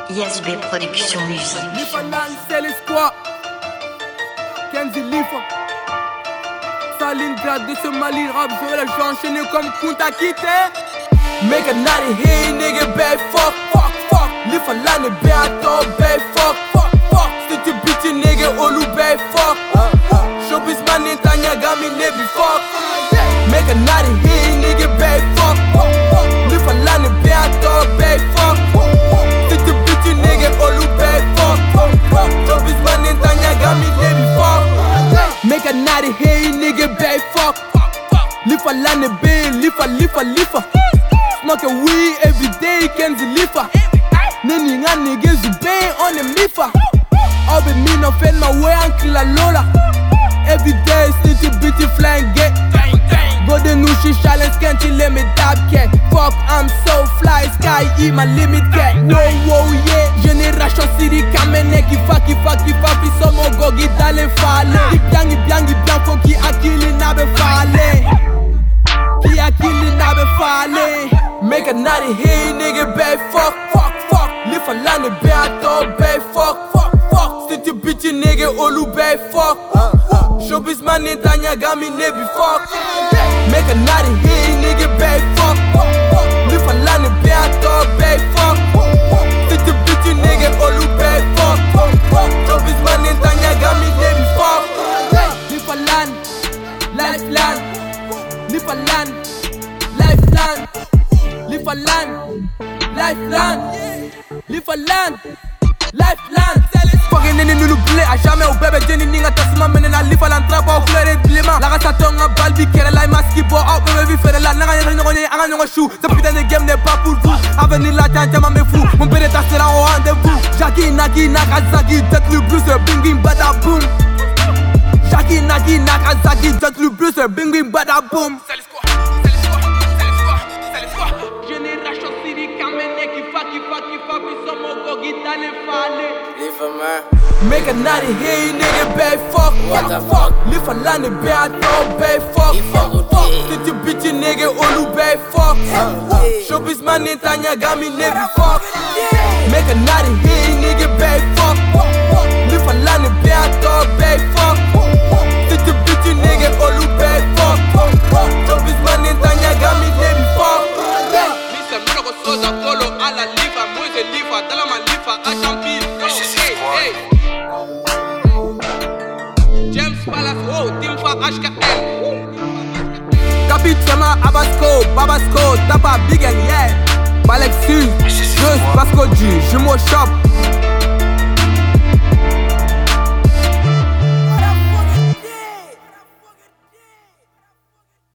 ISB Production Musique. Lifa Nan, c'est l'espoir. Kenzie Lifa. Stalingrad de ce Mali rap, je vais la enchaîner comme Kunta Kinte. Make a naughty hey nigga, bad fuck, fuck, fuck. Lifa Lan est bien à toi, bad fuck, fuck, fuck. Si tu bitch nigga, Olu bad fuck. Showbiz man, Netanya Gami Nebi fuck. Make a naughty hey nigga, bad fuck, fuck, fuck. Lifa Lan est bien à toi, bad fuck. Si tu bitch nigga, Olu bad fuck, fuck, fuck. Showbiz man, Netanya Gami Nebi fuck. Make a naughty hey nigga, bad fuck. Lifa Lan est bien, Lifa. Smoke a weed every day, Kenzie Lifa. Nini nga niggas you bang on the Mifa. All be me no fend my way and kill a Lola. Every day, stitchy bitchy flying get. Go the new shit challenge, can't you let me dab cat. Fuck, I'm so fly, sky, eat my limit cat. Wow, yeah. Génération Siri, kamene, kifa, fi somo gogi dale fale. Ibyangi, faut qui a killé nabe fale. Qui a killé nabe fale. Make a naughty hey nigga, bad fuck. Lifa Lan est bien à toi, bad fuck. Si tu bitch nigga, Olu bad fuck. Showbiz man, Netanya Gami Nebi fuck. Make a naughty hey nigga, bad fuck. Lifa Lan est bien à toi, bad fuck. Si tu bitch nigga, Olu bad fuck. Showbiz man, Netanya Gami Nebi fuck. Lifa Lan, lifeline. Lifa Lan, lifeline. Lifa Lan, lifeline. Lifa Lan, lifeline. Fucking nini nous l'oublie à jamais au bébé Jenny Ninga Tassima mène la Lifa Lan trap au fleur et blema. La race à tonga balbi kere la maski bo out bébé vi faire la nanga y'a rien anga nyonga chou. Ce putain de game n'est pas pour vous. Avenir la tante ma me fou. Mon père sera au rendez-vous. Jackie Nagi Nakazaki, jet le blues, bing bada boom. Jackie Nagi Nakazaki, jet le blues, bing bada boom. Génération Siri, kamene, kifa, fi somo gogi dale fale. Lifa man, make a naughty hey nigga, bad fuck. What the fuck? Lifa Lan est bien à toi, bad fuck. Si tu bitch nigga, Olu bad fuck. Showbiz man, Netanya Gami Nebi fuck. Make a naughty hey nigga, bad fuck. Lifa Lan est bien à toi, bad fuck. Si tu bitch nigga, Olu bad fuck. Showbiz man, Netanya Gami Nebi fuck. Listen, me no go soda polo a la Lifa, Moise Lifa, dala ma Lifa, a champi. Hey. James Palace, oh, Timfa HKL. Capitema Babasco, Tapa Big and yeah. Balexus, Just Basco G, Jumo Shop.